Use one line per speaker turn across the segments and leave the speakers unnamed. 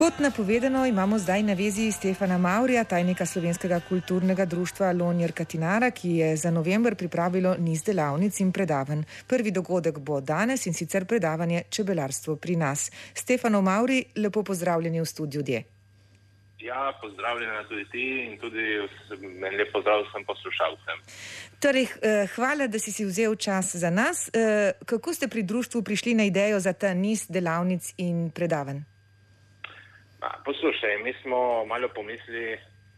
Kot napovedano, imamo zdaj na vezi Stefana Mavrija, tajnika Slovenskega kulturnega društva Lonjer Katinara, ki je za november pripravilo niz delavnic in predavanj. Prvi dogodek bo danes in sicer predavanje Čebelarstvo pri nas. Stefano Mavrij, lepo pozdravljeni v studiu D.
Ja, pozdravljena tudi ti in tudi lep pozdrav vsem poslušalcem.
Torej, hvala, da si vzel čas za nas. Kako ste pri društvu prišli na idejo za ta niz delavnic in predavanj?
Poslušaj, mi smo malo pomislili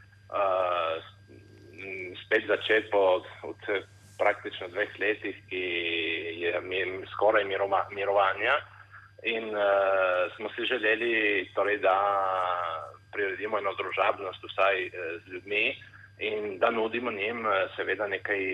spet začeti od praktično 2 letih, ki je skoraj mirovanja in smo si želeli, torej, da priredimo eno družabnost vsaj z ljudmi in da nudimo njim seveda nekaj,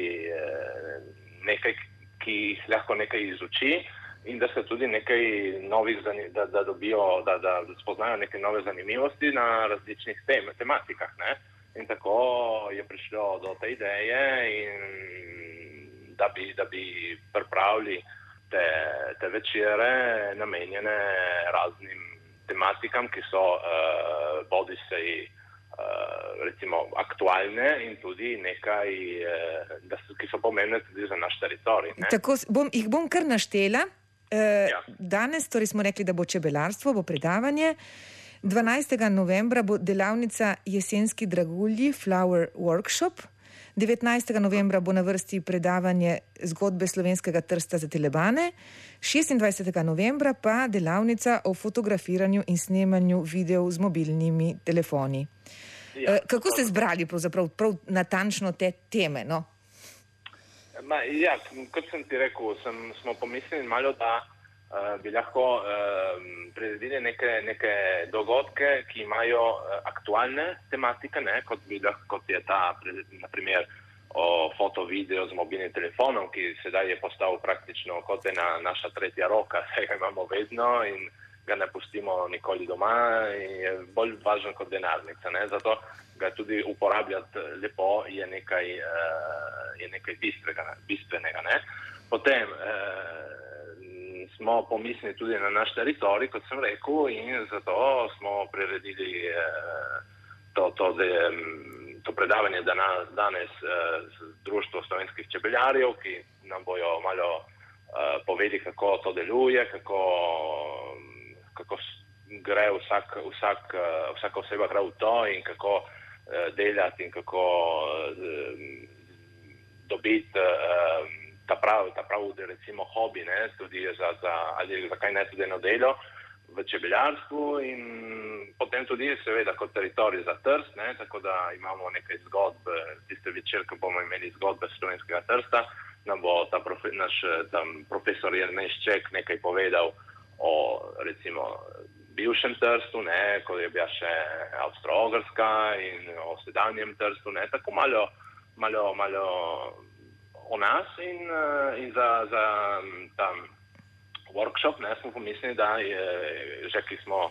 ki jih lahko nekaj izuči. In da se tudi nekaj novih, da dobijo, da spoznajo neke nove zanimivosti na različnih tematikah. Ne? In tako je prišlo do te ideje, in da bi pripravili te večere namenjene raznim tematikam, ki so bodisi recimo aktualne in tudi nekaj, ki so pomembne tudi za naš teritorij. Ne?
Tako jih bom kar naštela. Danes, torej smo rekli, da bo čebelarstvo, bo predavanje. 12. novembra bo delavnica Jesenski dragulji Flower Workshop. 19. novembra bo na vrsti predavanje Zgodbe slovenskega trsta za telebane. 26. novembra pa delavnica o fotografiranju in snemanju videov z mobilnimi telefoni. Kako ste zbrali prav natančno te teme, no?
Kot sem ti rekel, smo pomislili malo, da bi lahko priredili neke dogodke, ki imajo aktualne tematike, ne, kot je ta, na primer, o foto-video z mobilnim telefonom, ki sedaj je postal praktično kot ena naša tretja roka, saj ga imamo vedno in ga ne pustimo nikoli doma in je bolj važen kot denarnica. Ne? Zato ga tudi uporabljati lepo je nekaj bistvenega. Ne? Potem smo pomislili tudi na naš teritorij, kot sem rekel, in zato smo priredili to predavanje danes z Društvom slovenskih čebeljarjev, ki nam bojo malo povedali, kako to deluje, kako gre vsaka oseba gre v to in kako delati in kako dobiti ta pravi recimo hobi, ne, tudi ali zakaj ne tudi eno delo v čebeljarstvu in potem tudi seveda kot teritorij za Trst, ne, tako da imamo nekaj zgodb, tiste večer, ko bomo imeli zgodbe slovenskega Trsta, nam bo naš profesor Jernej Šček nekaj povedal o recimo bivšem Trstu, ne, ko je bila še Avstro-Ogrska in o sedanjem Trstu, ne, tako malo o nas in za tam workshop, ne, smo pomislili, da je, že ki smo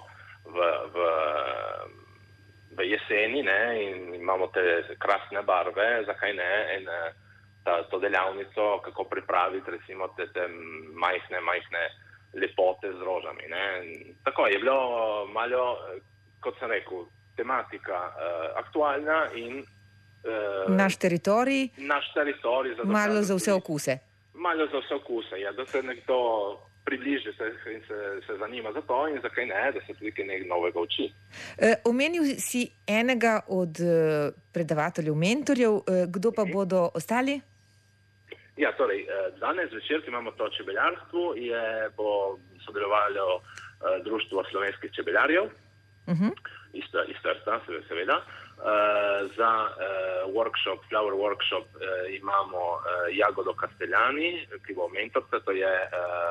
v jeseni, ne, in imamo te krasne barve, zakaj ne, in to delavnico, kako pripraviti recimo te majhne lepote z rožami. Ne. Tako je bilo malo, kot sem rekel, tematika aktualna in
naš teritorij,
malo
za vse okuse.
Malo za vse okuse, ja, da se nekdo približi in se zanima za to in zakaj ne, da se tudi nekaj novega uči.
Omenil si enega od predavateljev, mentorjev, kdo pa bodo ostali?
Ja, torej, danes večer, ki imamo to čebeljarstvo, bo sodelovalo Društvo slovenskih čebeljarjev, iz Trsta, seveda. Za workshop, Flower Workshop imamo Jagodo Castellani, ki bo mentorka, to je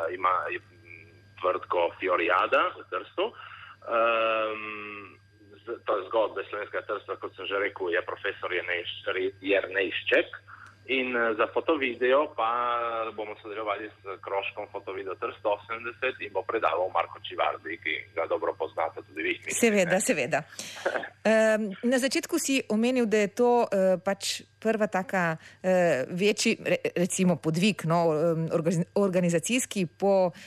Tvrtko Fioriada v Trstu. To zgodbe slovenskega Trsta, kot sem že rekel, je profesor Jernej Šček. In za fotovideo pa bomo sodelovali s krožkom Fotovideo Trst 80 in bo predaval Marko Čivardi, ki ga dobro poznate tudi vi.
Seveda. Na začetku si omenil, da je to pač prva taka večji, recimo podvig, no, organizacijski po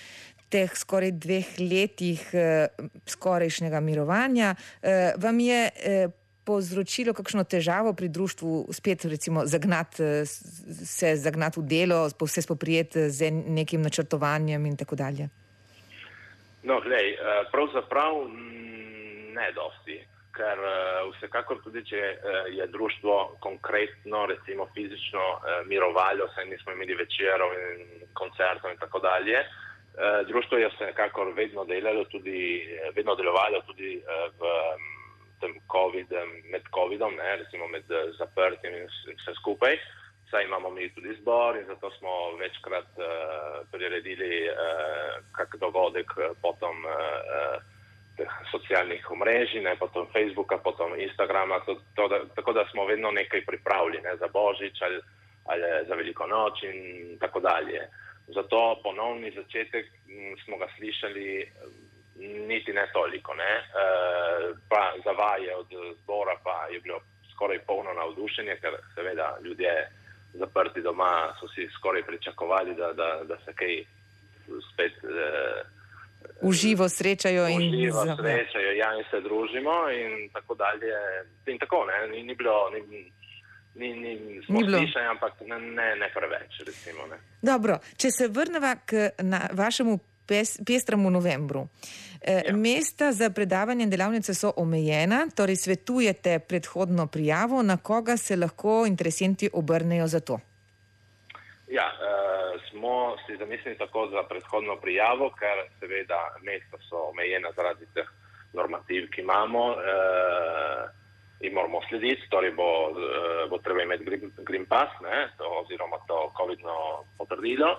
teh skoraj 2 letih skorajšnjega mirovanja vam je povzročilo kakšno težavo pri društvu spet recimo zagnati v delo, se spoprijeti z nekim načrtovanjem in tako dalje?
No, glej, pravzaprav ne dosti, ker vsekakor tudi, če je društvo konkretno, recimo fizično mirovalo, saj nismo imeli večerov in koncertov in tako dalje, društvo je vsekakor vedno delovalo tudi v tem med covidom, recimo med zaprtjem in vse skupaj. Saj imamo mi tudi zbor in zato smo večkrat priredili kak dogodek potom socialnih omrežij, potom Facebooka, potom Instagrama, tako da smo vedno nekaj pripravili za Božič ali za Veliko noč in tako dalje. Zato ponovni začetek smo ga slišali niti ne toliko, pa za vaje od zbora pa je bilo skoraj polno navdušenje, ker seveda ljudje zaprti doma so si skoraj pričakovali, da se kaj spet
uživo srečajo in
se družimo in tako dalje. In tako, ni bilo smo slišali, ampak ne preveč, recimo.
Dobro, če se vrneva k vašemu pestremu novembru. Mesta za predavanje in delavnice so omejena, torej svetujete predhodno prijavo, na koga se lahko interesenti obrnejo za to?
Ja, smo si zamislili tako za predhodno prijavo, ker seveda mesta so omejena zaradi teh normativ, ki imamo in moramo slediti, torej bo treba imeti Green Pass, oziroma to covidno potrdilo.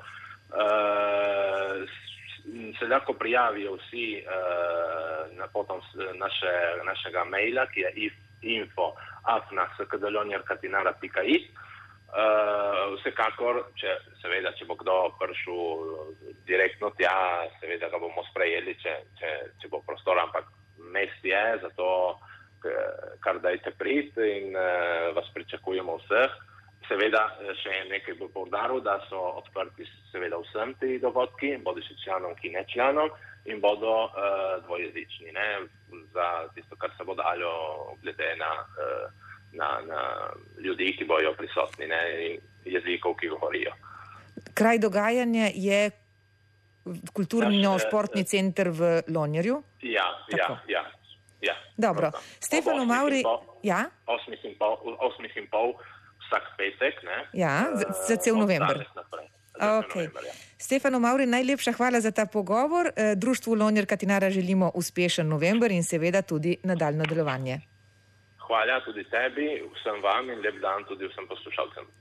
Se lahko prijavijo vsi potom našega maila, ki je info@skdlonjarkatinara.it. Vsekakor, če bo kdo prišel direktno tja, seveda ga bomo sprejeli, če bo prostor, ampak mest je, zato kar dajte priti in vas pričakujemo vseh. Seveda še nekaj bo poudaril, da so odprti seveda vsem ti dogodki, bodiši članom, ki ne članom, in bodo dvojezični, za tisto, kar se bo dalo glede na ljudi, ki bojo prisotni, in jezikov, ki govorijo.
Kraj dogajanja je kulturno-športni center v Lonjarju?
Ja.
Dobro. Stefano Mavri...
8:30 vsak petek,
Ja, za cel november. Okay. Stefano Mavri, najlepša hvala za ta pogovor. Društvu Lonjar Katinara želimo uspešen november in seveda tudi nadaljnje delovanje.
Hvala tudi tebi, vsem vam in lep dan tudi vsem poslušalcem.